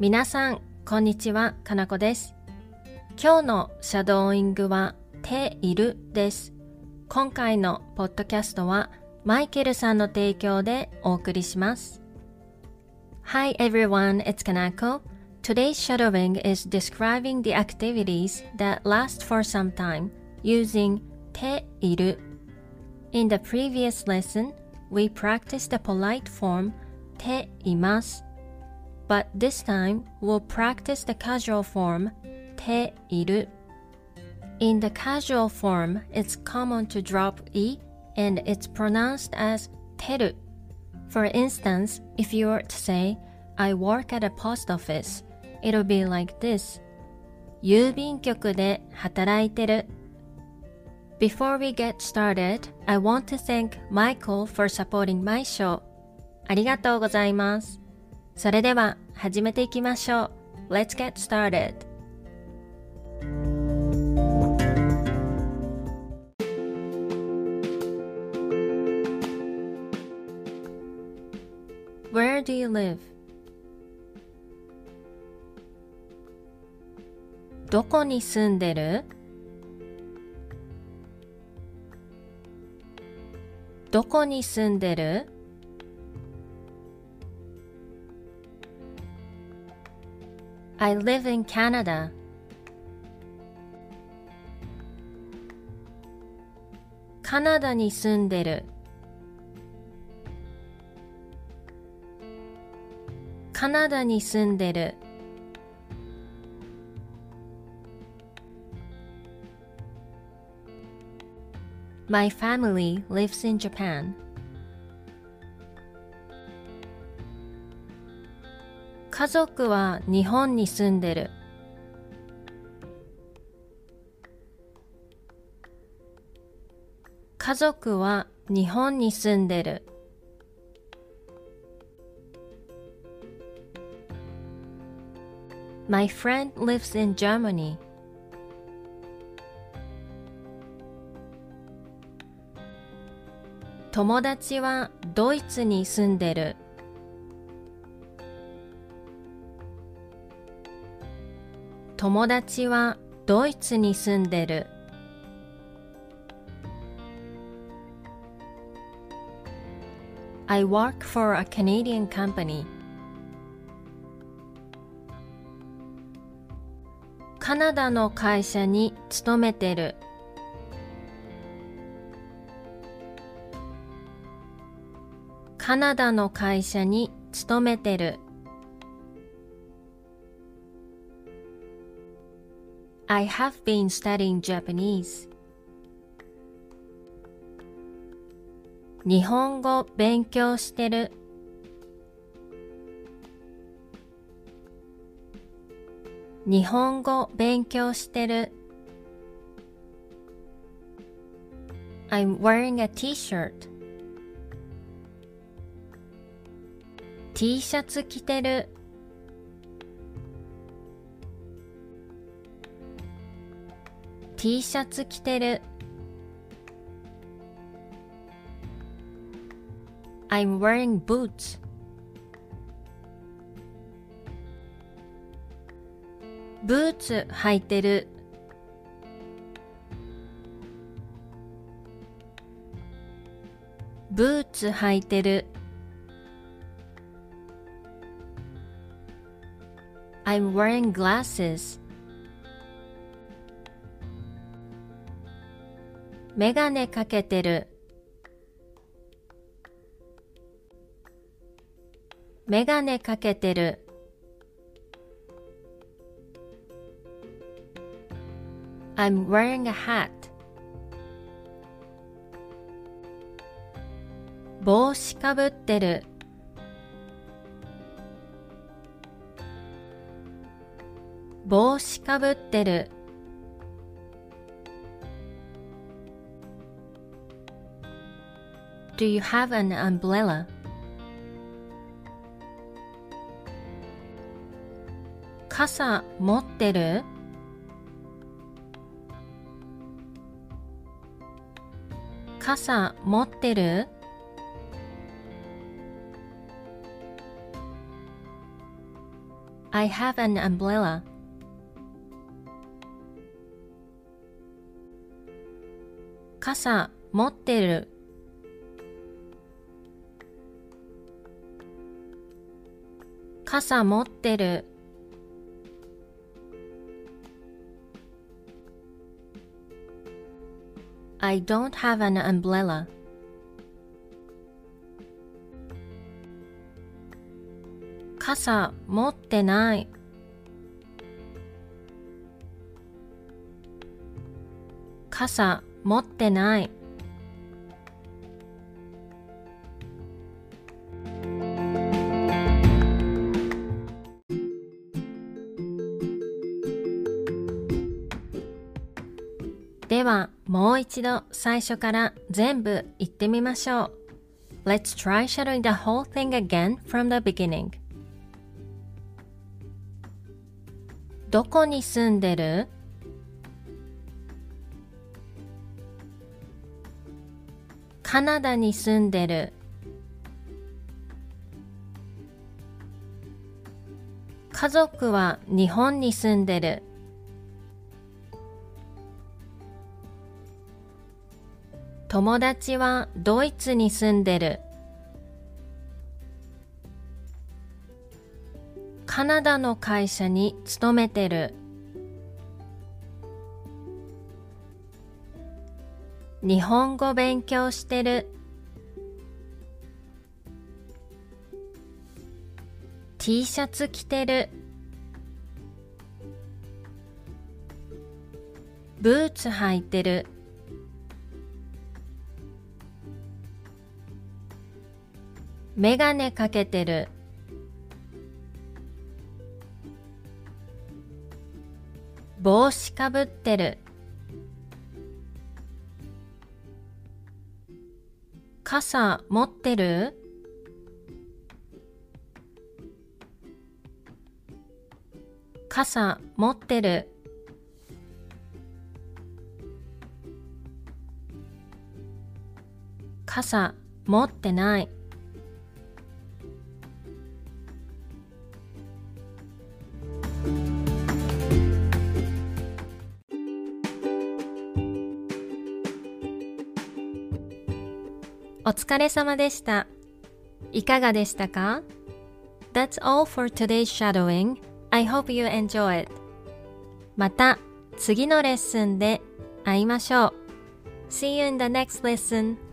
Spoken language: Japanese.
皆さん、こんにちは、かなこです。今日のシャドーイングは、ているです。今回のポッドキャストは、マイケルさんの提供でお送りします。Hi everyone, it's Kanako. Today's shadowing is describing the activities that last for some time using ている. In the previous lesson, we practiced the polite form ています。But this time, we'll practice the casual form ている. In the casual form, it's common to drop e and it's pronounced as てる. For instance, if you were to say, I work at a post office, it'll be like this. 郵便局で働いてる. Before we get started, I want to thank Michael for supporting my show. ありがとうございます。それでは始めていきましょう。Let's get started. Where do you live? どこに住んでる？どこに住んでる？ I live in Canada. カナダに住んでる。カナダに住んでる。My family lives in Japan. 家族は日本に住んでる。家族は日本に住んでる。My friend lives in Germany. 友達はドイツに住んでる。友達はドイツに住んでる。I work for a Canadian company. カナダの会社に勤めてる。カナダの会社に勤めてる。I have been studying Japanese. 日本語勉強してる。日本語勉強してる。I'm wearing a t-shirt. T シャツ着てる。T シャツ着てる。I'm wearing boots. ブーツ履いてる。ブーツ履いてる。I'm wearing glasses. メガネかけてる。メガネかけてる。I'm wearing a hat. 帽子かぶってる。帽子かぶってる。Do you have an umbrella? 傘持ってる？傘持ってる？ I have an umbrella. 傘持ってる。傘持ってる。I don't have an umbrella. 傘持ってない。傘持ってない。ではもう一度最初から全部言ってみましょう。Let's try shadowing the whole thing again from the beginning. どこに住んでる？カナダに住んでる。家族は日本に住んでる。友達はドイツに住んでる。カナダの会社に勤めてる。日本語勉強してる。T シャツ着てる。ブーツ履いてる。メガネかけてる。帽子かぶってる。傘持ってる？傘持ってる。傘持ってない。お疲れ様でした。いかがでしたか？ That's all for today's shadowing. I hope you enjoy it. また次のレッスンで会いましょう。See you in the next lesson.